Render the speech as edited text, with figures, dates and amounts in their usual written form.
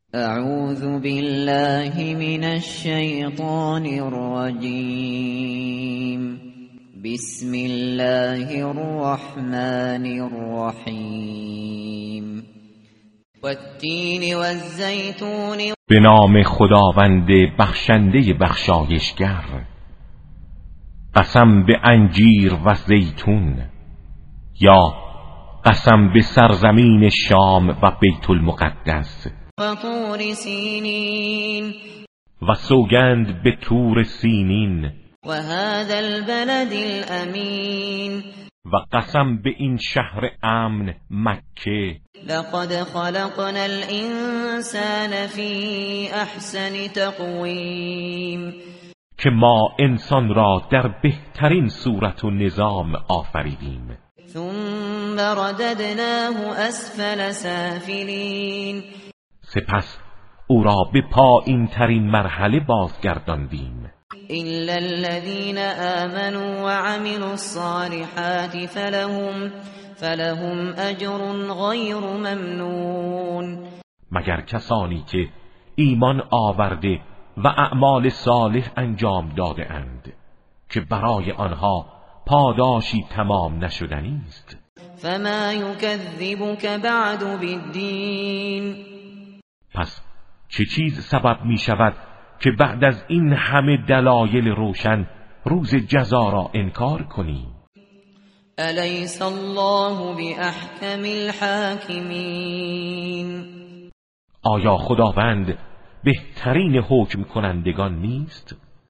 اعوذ بالله من الشیطان الرجیم. بسم الله الرحمن الرحیم. والتین والزیتون. به نام خداوند بخشنده بخشایشگر. قسم به انجیر و زیتون، یا قسم به سرزمین شام و بیت المقدس. و طور سینین. و سوگند به طور سینین. و هذا البلد الامین. و قسم به این شهر امن مکه. لقد خلقنا الانسان فی احسن تقویم. که ما انسان را در بهترین صورت و نظام آفریدیم. ثم رددناه اسفل سافلین. سپس او را به پایین ترین مرحله بازگرداندیم. الا الذين آمنوا وعملوا الصالحات فلهم اجر غیر ممنون. مگر کسانی که ایمان آورده و اعمال صالح انجام داده اند که برای آنها پاداشی تمام نشدنی است. فما یکذبک بعد بالدین. پس چه چیز سبب می شود که بعد از این همه دلایل روشن روز جزا را انکار کنی؟ الیس الله باحکم الحاکمین. آیا خداوند بهترین حکم کنندگان نیست؟